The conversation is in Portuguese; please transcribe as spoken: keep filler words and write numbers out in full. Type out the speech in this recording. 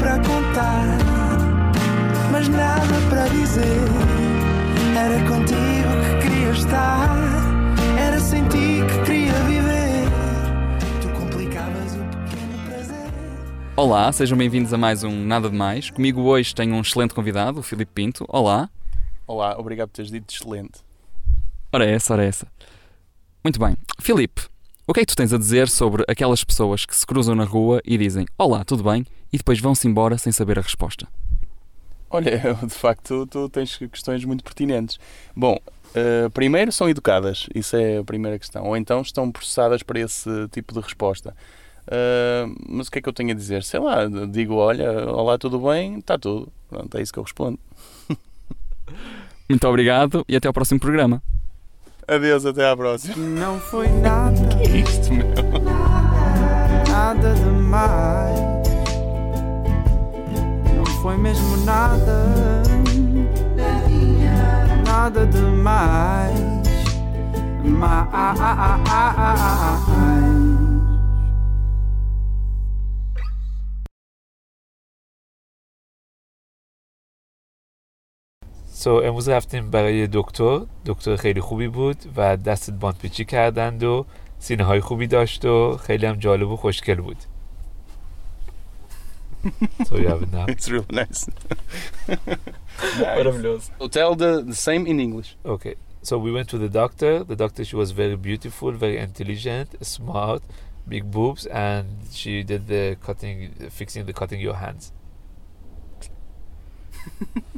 para contar, mas nada para dizer. Era contigo que queria estar, era sem ti que queria viver. Tu complicavas o pequeno prazer. Olá, sejam bem-vindos a mais um Nada de Mais. Comigo hoje tenho um excelente convidado, o Filipe Pinto. Olá. Olá, obrigado por teres dito excelente. Ora essa, ora essa. Muito bem. Filipe, o que é que tu tens a dizer sobre aquelas pessoas que se cruzam na rua e dizem olá, tudo bem? E depois vão-se embora sem saber a resposta? Olha, de facto, tu tens questões muito pertinentes. Bom, uh, primeiro são educadas, isso é a primeira questão. Ou então estão processadas para esse tipo de resposta. Uh, mas o que é que eu tenho a dizer? Sei lá, digo, olha, olá, tudo bem? Está tudo. Pronto, é isso que eu respondo. Muito obrigado e até ao próximo programa. Adeus, até à próxima. Não foi nada, Que é isto, meu? nada demais. Não foi mesmo nada, nada demais. Mais. So امروز رفتیم برای دکتر دکتر خیلی خوبی بود و دستت باندپیچی کردند و سینه های خوبی داشت و خیلی هم جالب و خوشگل بود. So you have it now. It's really nice. Maravilhoso. So tell the, the same in English. Okay. So we went to the doctor. The doctor, she was very beautiful, very intelligent, smart, big boobs, and she did the cutting, fixing the cutting your hands.